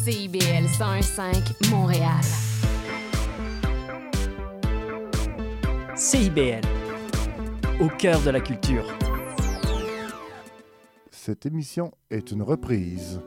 CIBL 101.5 Montréal. CIBL, au cœur de la culture. Cette émission est une reprise.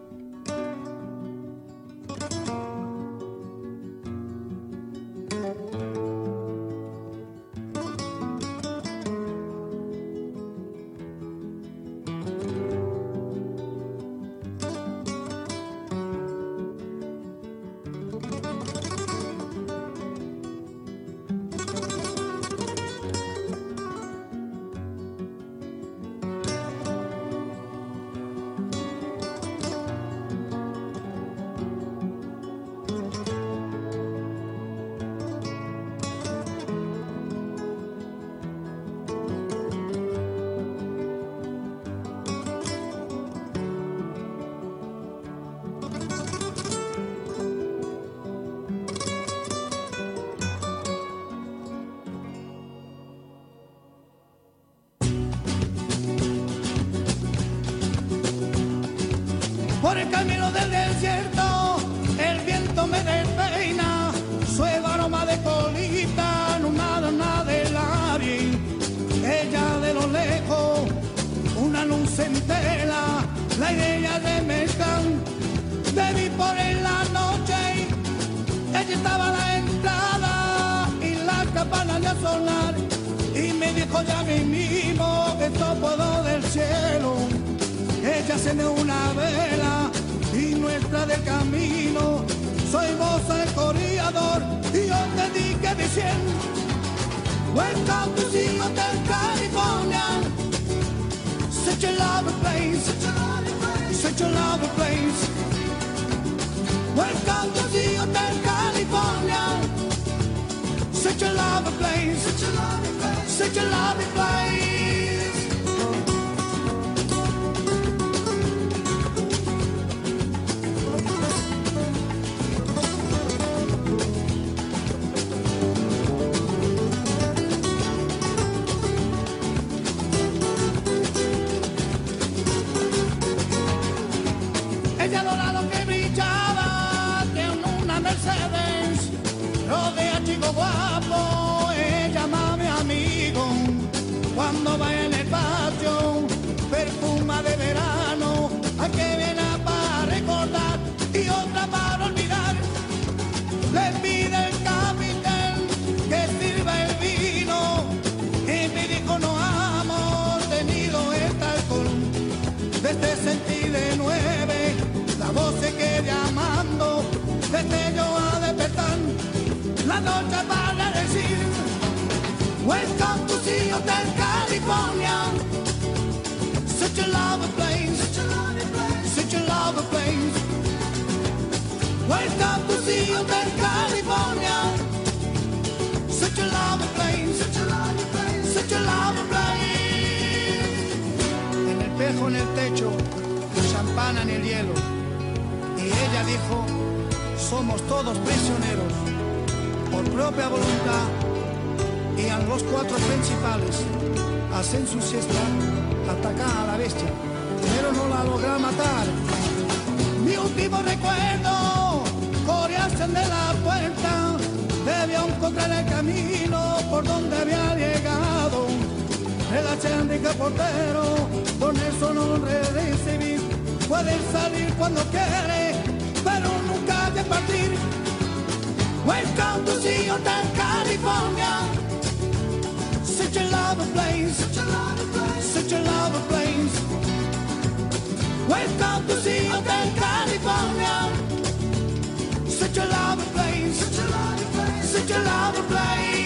Por el camino del desierto, el viento me despeina, su aroma de colita, nada de labios. Ella de lo lejos, una luz entera, la idea de mezclar, te vi por en la noche, ella estaba a la entrada y la campana de sonar, y me dijo ya mismo que esto puedo del cielo. Ella enciende una vela y nuestra del camino. Soy vos el corredor y yo te dije diciendo: Welcome to the Hotel California. Such a lovely place, such a lovely place. Welcome to the Hotel California. Such a lovely place, such a lovely place. Guapo, ella mami amigo, cuando va en el patio, perfuma de verano, a que viene para recordar y otra para olvidar. Le pide el capitán que sirva el vino y me dijo: no hemos tenido este alcohol desde sentí de 9, la voz se queda llamando desde yo a despertar. La noche para decir: Welcome to the Hotel California. Such a lovely place, such a lovely place. Welcome to the Hotel California. Such a lovely place, such a lovely place, such a lovely place. En el espejo, en el techo, champán en el hielo. Y ella dijo: somos todos prisioneros por propia voluntad, y a los 4 principales hacen su siesta, atacan a la bestia, pero no la logran matar. Mi último recuerdo, corriarse de la puerta, debió encontrar el camino por donde había llegado. El achendrique portero, con eso no recibir, puede salir cuando quiere, pero nunca de partir. Welcome to the Hotel California. Such a lovely place, such a lovely place, such a lovely place. Welcome to the Hotel California. Such a lovely place, such a lovely place, such a lovely place.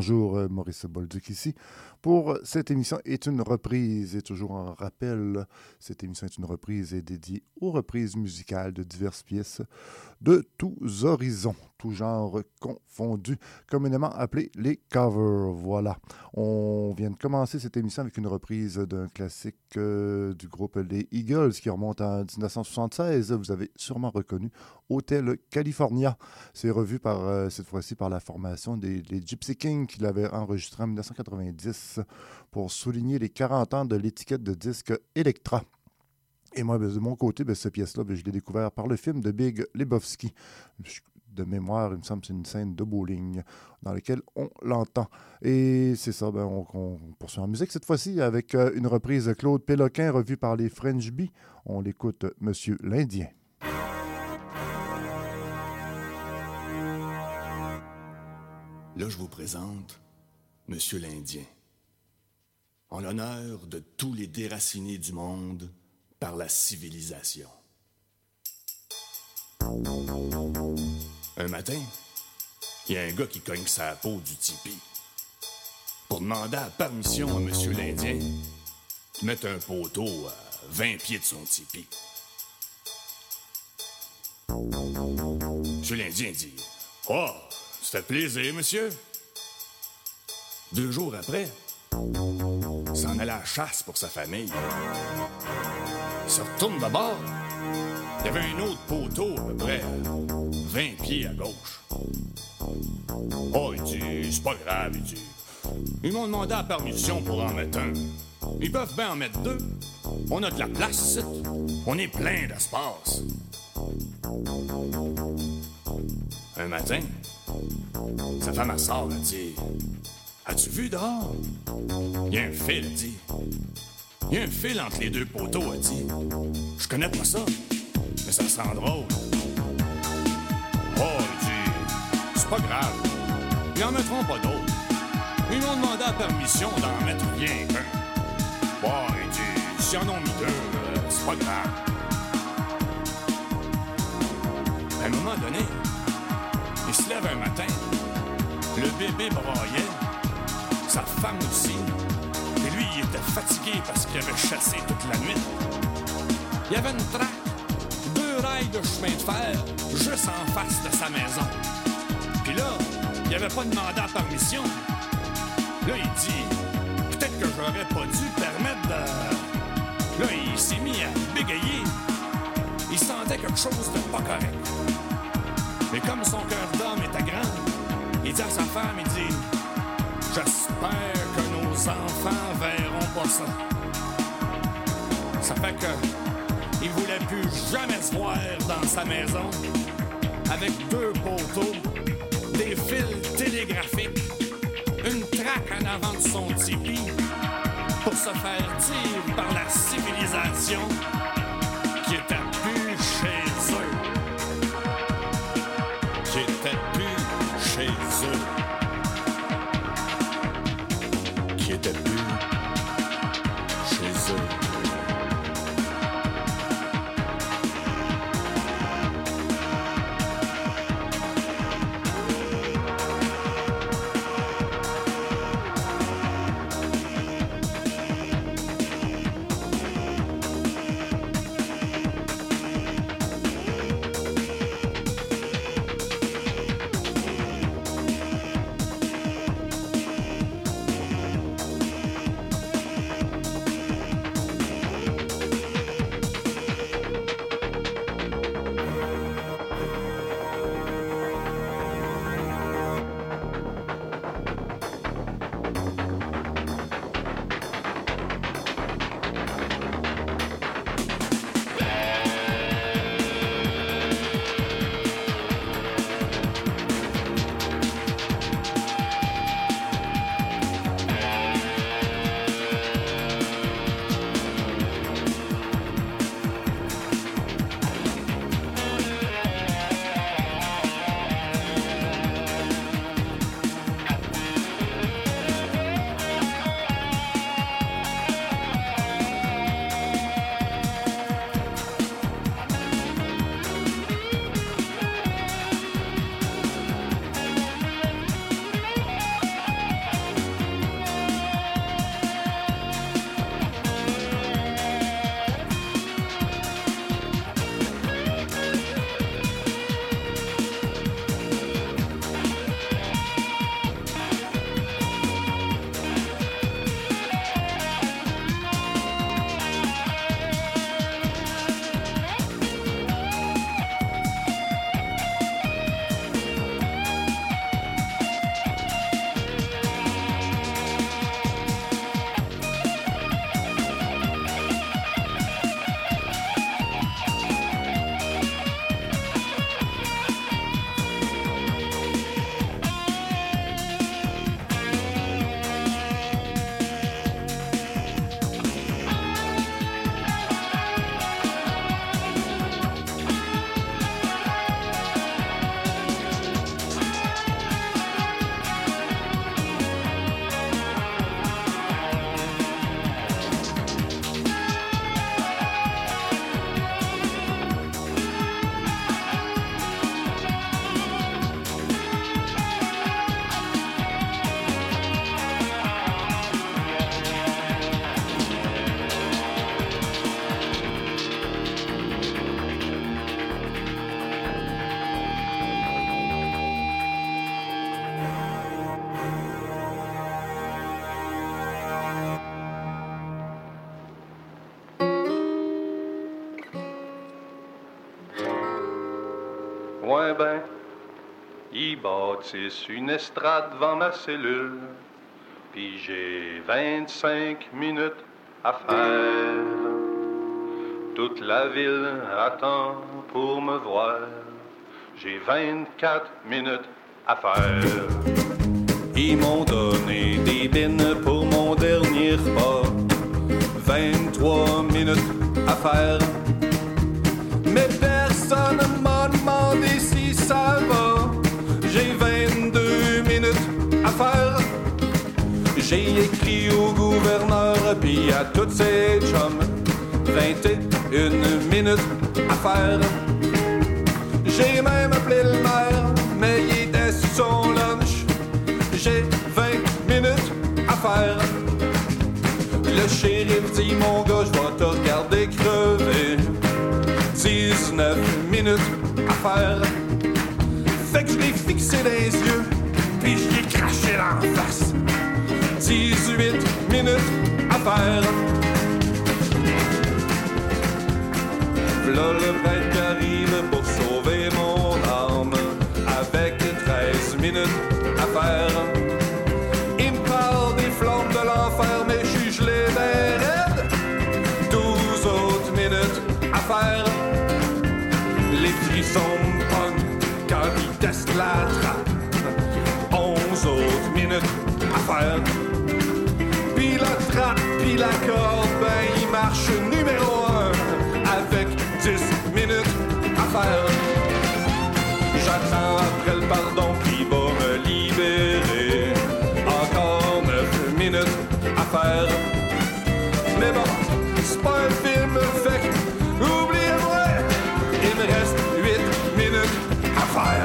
bonjour, Maurice Bolduc ici. Pour cette émission est une reprise, et toujours en rappel, cette émission est une reprise et dédiée aux reprises musicales de diverses pièces de tous horizons, tous genres confondus, communément appelés les covers. Voilà, on vient de commencer cette émission avec une reprise d'un classique du groupe Les Eagles qui remonte en 1976. Vous avez sûrement reconnu Hotel California. C'est revu cette fois-ci par la formation des Gypsy Kings qui l'avaient enregistré en 1990 pour souligner les 40 ans de l'étiquette de disque Elektra. Et moi, de mon côté, cette pièce-là, je l'ai découvert par le film de Big Lebowski. De mémoire, il me semble que c'est une scène de bowling dans laquelle on l'entend. Et c'est ça, on poursuit en musique cette fois-ci avec une reprise de Claude Péloquin revue par les French Bee. On l'écoute, Monsieur l'Indien. Là, je vous présente Monsieur l'Indien, en l'honneur de tous les déracinés du monde par la civilisation. Un matin, il y a un gars qui cogne sa peau du tipi pour demander la permission à Monsieur l'Indien de mettre un poteau à 20 pieds de son tipi. Monsieur l'Indien dit « Oh, ça fait plaisir, monsieur. » 2 jours après, il s'en allait à la chasse pour sa famille. Il se retourne d'abord. Il y avait un autre poteau à peu près 20 pieds à gauche. Oh, il dit, c'est pas grave, il dit. Ils m'ont demandé la permission pour en mettre un. Ils peuvent bien en mettre 2. On a de la place ici. On est plein d'espace. Un matin, sa femme sort, elle dit, as-tu vu dehors? Il y a un fil, elle dit. Il y a un fil entre les 2 poteaux, elle dit. Je connais pas ça, mais ça sent drôle. Oh, il dit, c'est pas grave. Ils en mettront pas d'autres. Ils m'ont demandé la permission d'en mettre rien qu'un. Oh, il dit, s'ils en ont mis 2, c'est pas grave. À un moment donné, il se lève un matin, le bébé braillait, sa femme aussi, et lui, il était fatigué parce qu'il avait chassé toute la nuit. Il y avait une traque, 2 rails de chemin de fer, juste en face de sa maison. Puis là, il avait pas demandé la permission. Là, il dit, peut-être que j'aurais pas dû permettre de... Là, il s'est mis à bégayer. Il sentait quelque chose de pas correct. Mais comme son cœur d'homme était grand, il dit à sa femme, il dit, j'espère que nos enfants verront pas ça. Ça fait que il voulait plus jamais se voir dans sa maison avec 2 poteaux, des fils télégraphiques, une traque en avant de son tipi pour se faire dire par la civilisation qu'il était plus chez eux. Qu'il était plus chez eux. Qu'il était plus chez eux. Ouais ben, ils bâtissent une estrade devant ma cellule, puis j'ai 25 minutes à faire. Toute la ville attend pour me voir, j'ai 24 minutes à faire. Ils m'ont donné des bines pour mon dernier repas, 23 minutes à faire. Mais personne ne m'a demandé si ça va, j'ai 22 minutes à faire. J'ai écrit au gouverneur pis à toutes ses chums, 21 minutes à faire. J'ai même appelé le maire, mais il était sur son lunch. J'ai 20 minutes à faire. Le shérif dit, mon gars, je vais te regarder crever. 19 minutes à faire. Fait que je l'ai fixé dans les yeux, puis je l'ai craché dans la face. 18 minutes à faire. V'là le prêtre qui arrive pour sauver mon âme, avec 13 minutes à faire. Il me parle des flammes de l'enfer, mais je suis gelé ben raide. 12 autres minutes à faire. Les frissons me pognent quand ils testent la trappe. 11 autres minutes à faire. Puis la trappe, puis la corde, ben il marche numéro 1 avec 10 minutes à faire. J'attends après le pardon qui va me libérer. Encore 9 minutes à faire. Mais bon, c'est pas un film fait, oubliez-moi, il me reste 8 minutes à faire.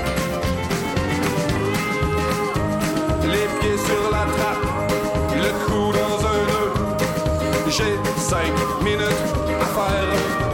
Les pieds sur la trappe, le cou dans un nœud, j'ai 5 minutes à faire.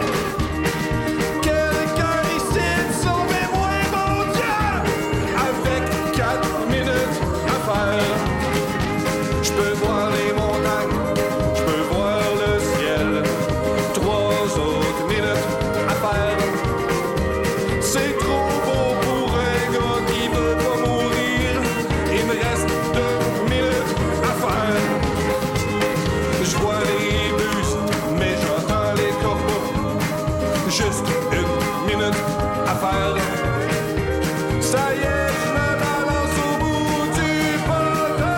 Quelqu'un ici sauvez-moi, mon Dieu, avec 4 minutes à faire. Je peux voir les montagnes, je peux voir le ciel, 3 autres minutes à faire. C'est trop beau pour un gars qui veut pas mourir, il me reste 2 minutes à faire. Je vois les bus, mais j'entends les corbeaux. Juste 1 minute à faire. Ça y est, je me balance au bout du poteau.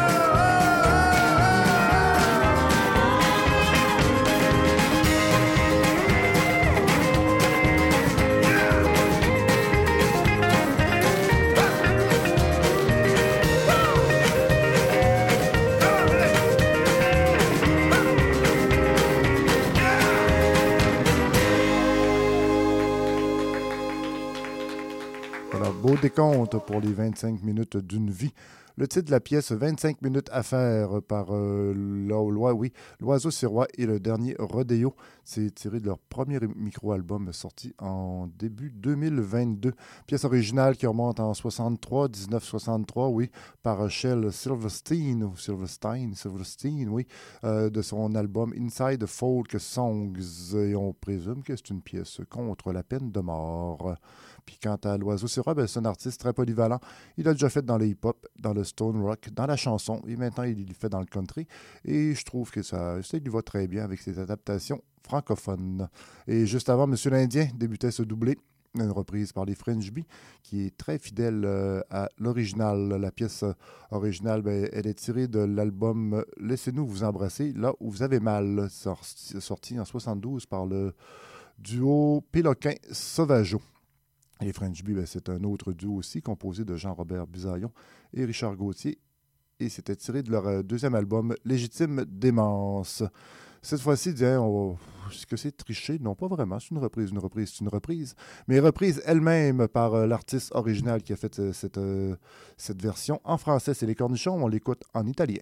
Voilà, beau décompte pour les 25 minutes d'une vie. Le titre de la pièce, 25 minutes à faire par l'Oiseau Sirois et le dernier Rodéo. C'est tiré de leur premier micro-album sorti en début 2022. Pièce originale qui remonte en 1963, oui, par Shel Silverstein, oui, de son album Inside Folk Songs. Et on présume que c'est une pièce contre la peine de mort. Puis quant à l'Oiseau Sirois, c'est un artiste très polyvalent. Il a déjà fait dans le hip-hop, dans le stone rock, dans la chanson, et maintenant il le fait dans le country. Et je trouve que ça lui va très bien avec ses adaptations francophones. Et juste avant, Monsieur l'Indien débutait ce doublé, une reprise par les French Bee, qui est très fidèle à l'original. La pièce originale, elle est tirée de l'album « Laissez-nous vous embrasser là où vous avez mal », sorti en 1972 par le duo Péloquin-Sauvageau. Les French Bee, c'est un autre duo aussi, composé de Jean-Robert Bisaillon et Richard Gauthier. Et c'était tiré de leur deuxième album, Légitime démence. Cette fois-ci, est-ce que c'est triché? Non, pas vraiment. C'est une reprise. Mais reprise elle-même par l'artiste original qui a fait cette version. En français, c'est Les Cornichons. On l'écoute en italien.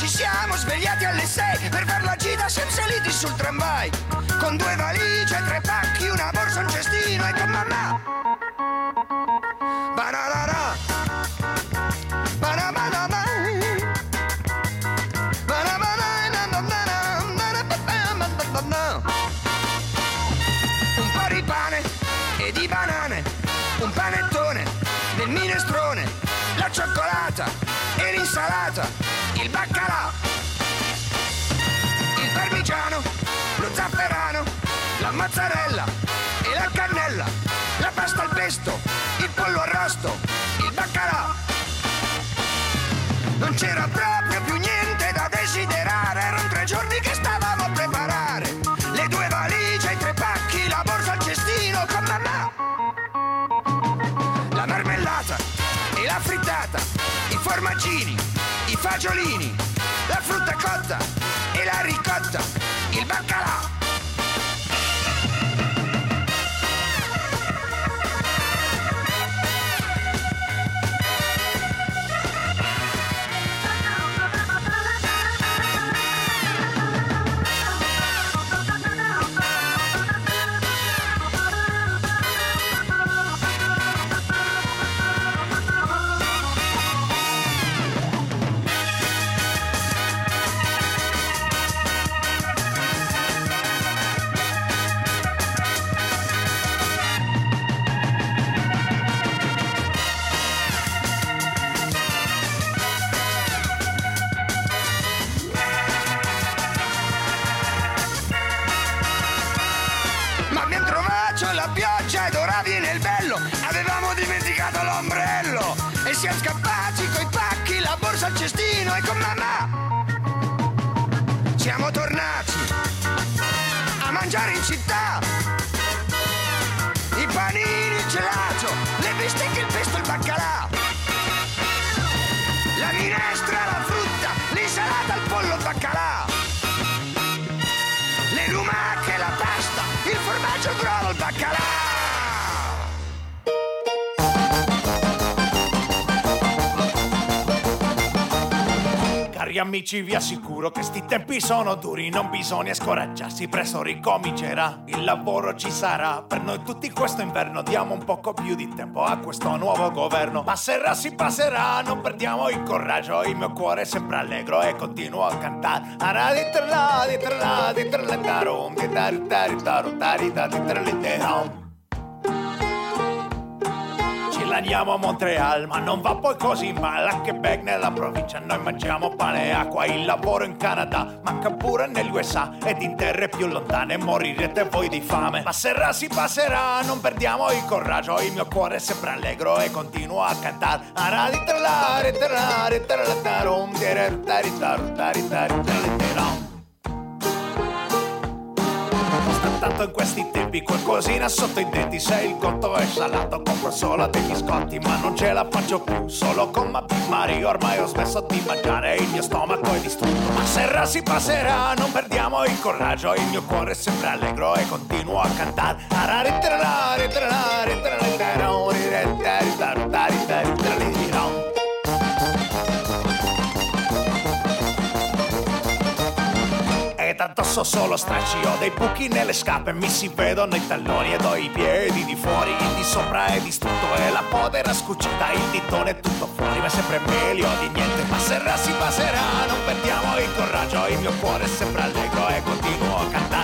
siamo svegliati alle 6 per far la gita senza liti sul tramvai, con 2 valigie, 3 pacchi, una borsa, un cestino e con mamma. Bananana, bananana, un po' di pane e di banane, un panettone del minestrone, la cioccolata e l'insalata, il baccalà, il parmigiano, lo zafferano, la mozzarella e la cannella, la pasta al pesto, il pollo arrosto, il baccalà. Non c'era proprio più niente da desiderare, erano 3 giorni che stavamo a preparare, le 2 valigie, i 3 pacchi, la borsa al cestino con mamma, la marmellata e la frittata, i formaggini, i fagiolini, la frutta cotta e la ricotta, il baccalà. E siamo scappati coi pacchi, la borsa al cestino e con mamma siamo tornati a mangiare in città, i panini, il gelato, le bistecche, il pesto, il baccalà, la minestra, la frutta, l'insalata, il pollo, il baccalà, le lumache, la pasta, il formaggio, il brodo, il baccalà. Cari amici, vi assicuro che sti tempi sono duri, non bisogna scoraggiarsi, presto ricomincerà, il lavoro ci sarà, per noi tutti questo inverno, diamo un poco più di tempo a questo nuovo governo, passerà, si passerà, non perdiamo il coraggio, il mio cuore è sempre allegro e continuo a cantare. Andiamo a Montreal, ma non va poi così male. A Quebec nella provincia noi mangiamo pane e acqua. Il lavoro in Canada, manca pure negli USA ed in terre più lontane morirete voi di fame. Passerà, si passerà, non perdiamo il coraggio. Il mio cuore è sempre allegro e continuo a cantare. Tanto in questi tempi qualcosina sotto i denti, se il conto è salato compro solo dei biscotti, ma non ce la faccio più solo con Mari, ormai ho smesso di mangiare, il mio stomaco è distrutto. Passerà, si passerà, non perdiamo il coraggio, il mio cuore è sempre allegro e continuo a cantare. Tanto so solo stracci, ho dei buchi nelle scarpe, mi si vedono i talloni ed ho i piedi di fuori, il di sopra è distrutto e la podera scucita, il ditone è tutto fuori, ma è sempre meglio di niente. Passerà, si passerà, non perdiamo il coraggio, il mio cuore è sempre allegro e continuo a cantare.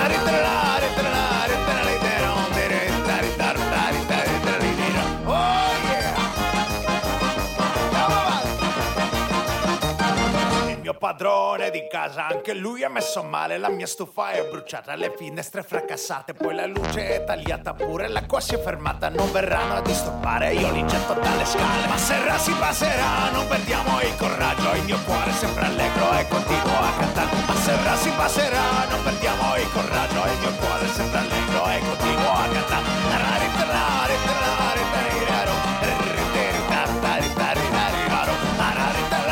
Padrone di casa, anche lui è messo male, la mia stufa è bruciata, le finestre fracassate, poi la luce è tagliata pure, l'acqua si è fermata, non verranno a disturbare, io li getto dalle scale. Passerà, si passerà, non perdiamo il coraggio, il mio cuore è sempre allegro e continuo a cantare. Passerà, si passerà, non perdiamo il coraggio, il mio cuore è sempre allegro e continuo a cantare.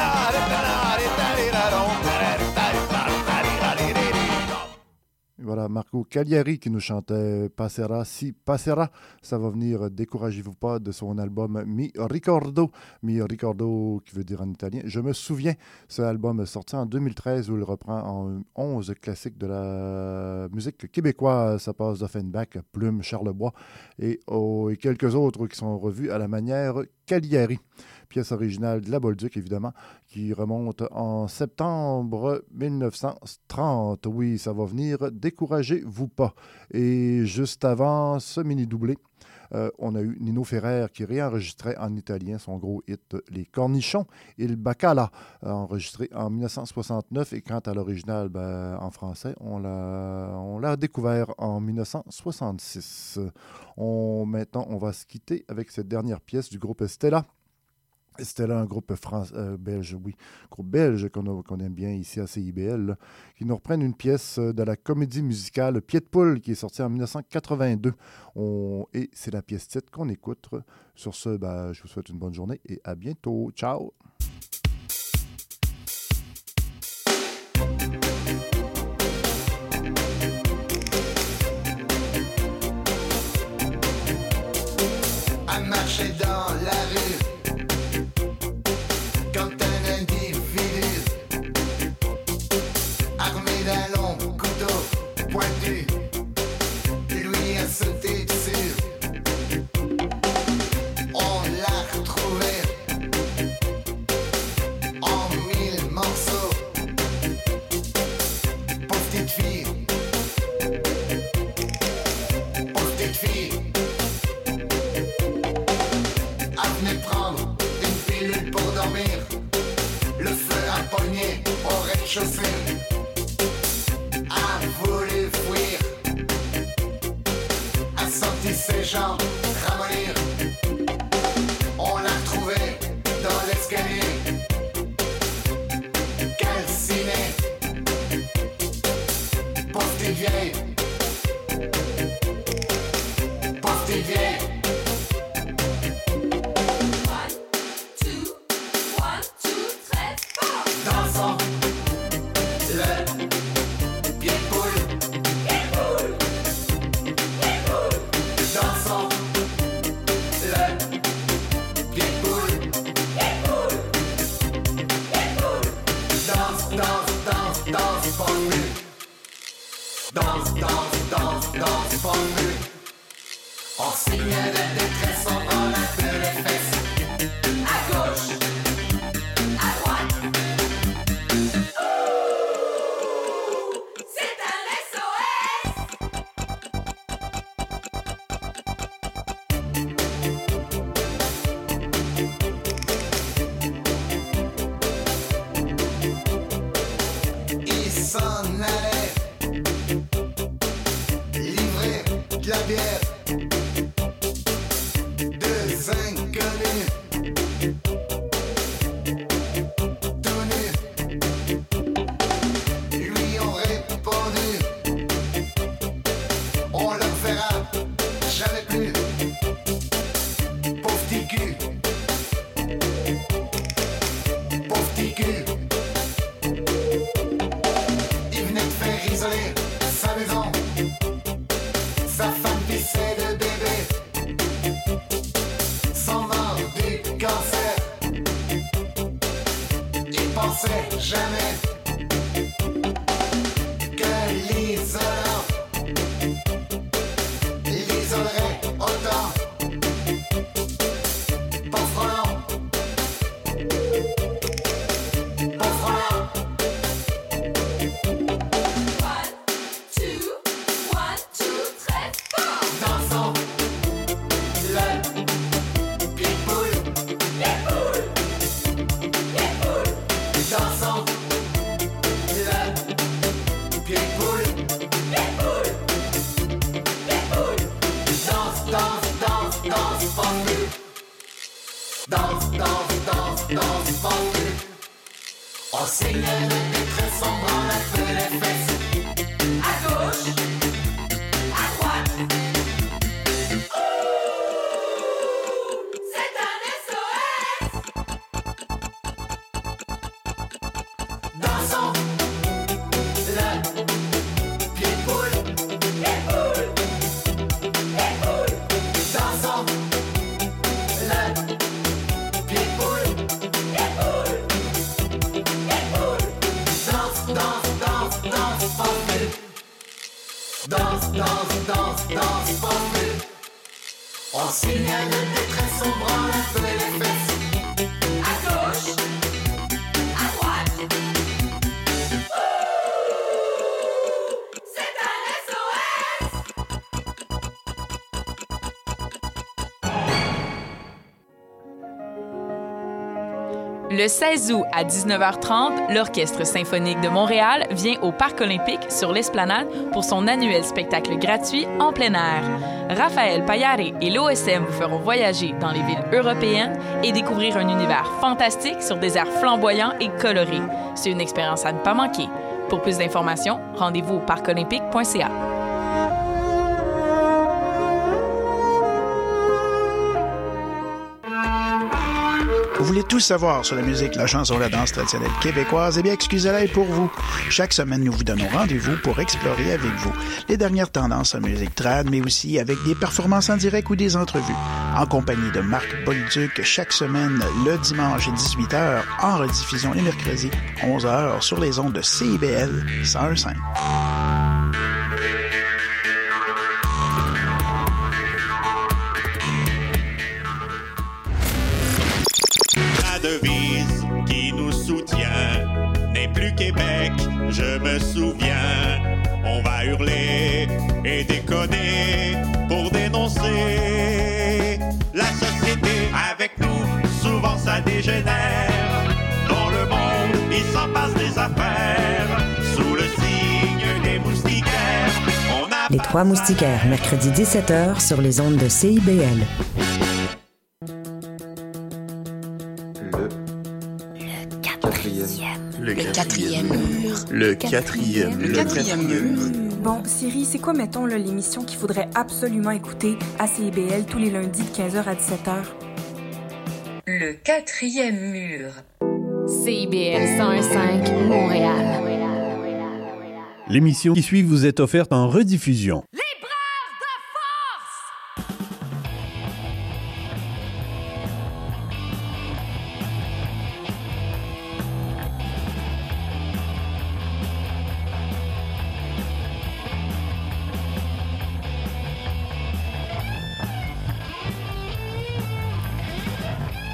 Voilà, Marco Cagliari qui nous chantait Passera si passera. Ça va venir Découragez-vous pas de son album Mi Ricordo. Mi Ricordo qui veut dire en italien Je me souviens. Ce album est sorti en 2013 où il reprend en 11 classiques de la musique québécoise. Ça passe d'Offenbach, Plume, Charlebois et quelques autres qui sont revus à la manière Cagliari. Pièce originale de la Bolduc, évidemment, qui remonte en septembre 1930. Oui, ça va venir, Découragez-vous pas. Et juste avant ce mini-doublé, on a eu Nino Ferrer qui réenregistrait en italien son gros hit « Les Cornichons » et le Bacala, enregistré en 1969. Et quant à l'original, en français, on l'a découvert en 1966. Maintenant, on va se quitter avec cette dernière pièce du groupe Stella. Stella, un groupe belge, oui, groupe belge qu'on aime bien ici à CIBL, là, qui nous reprennent une pièce de la comédie musicale Pied de poule qui est sortie en 1982. Et c'est la pièce titre qu'on écoute. Sur ce, je vous souhaite une bonne journée et à bientôt. Ciao! À marcher dans la rue quand un individu armé d'un long couteau pointu lui a sauté dessus. On l'a retrouvé en 1000 morceaux. Pauvre petite fille, pauvre petite fille, a venu prendre une pilule pour dormir. Le feu a pogné au rez-de-chaussée. A voulu fuir, a senti ses jambes ramollir. On l'a retrouvé dans l'escalier, calciné. Pauvre petite vieille, pauvre petite vieille. Dansons le pied de poule. Dansons le pied de poule. Danse, danse, danse, danse, pas de but. Danse, danse, danse, danse, pas de but. On signe de détresse, on prend un peu les fesses. À gauche, à droite. Il s'en allait livrer de la bière. Deux inconnus tout nus lui ont répondu: on le verra jamais plus. Pauvre petit cul, pauvre petit cul. Il venait de faire isoler sa maison. Sa femme pissait de bébé, sans mort du cancer. Il pensait jamais que l'isolant l'isolerait autant. Pauvre Roland, pauvre Roland. Dansons le pied de poule. Dansons le pied de poule. Danse, danse, danse, danse, pendu. Danse, danse, danse, danse, pendu. On signe de détresse, on branle un peu les fesses. À gauche, à droite. C'est un SOS. Dansons le pied de poule. En signal de détresse, on branle un peu les fesses. À gauche, à droite. C'est un SOS. Le 16 août à 19h30, l'Orchestre symphonique de Montréal vient au Parc olympique sur l'Esplanade pour son annuel spectacle gratuit en plein air. Raphaël Payare et l'OSM vous feront voyager dans les villes européennes et découvrir un univers fantastique sur des airs flamboyants et colorés. C'est une expérience à ne pas manquer. Pour plus d'informations, rendez-vous au parcolympique.ca. Vous voulez tout savoir sur la musique, la chanson, la danse traditionnelle québécoise? Eh bien, excusez-la est pour vous. Chaque semaine, nous vous donnons rendez-vous pour explorer avec vous les dernières tendances en musique trad, mais aussi avec des performances en direct ou des entrevues. En compagnie de Marc Bolduc, chaque semaine, le dimanche à 18h, en rediffusion les mercredis, 11h, sur les ondes de CIBL 101.5. Devise qui nous soutient n'est plus Québec, je me souviens. On va hurler et déconner pour dénoncer la société. Avec nous, souvent ça dégénère. Dans le monde, il s'en passe des affaires. Sous le signe des moustiquaires, on a... Les Trois Moustiquaires, mercredi 17h sur les ondes de CIBL. Le quatrième mur. Bon, Siri, c'est quoi, mettons, là, l'émission qu'il faudrait absolument écouter à CIBL tous les lundis de 15h à 17h? Le quatrième mur. CIBL 101.5 Montréal. L'émission qui suit vous est offerte en rediffusion. Les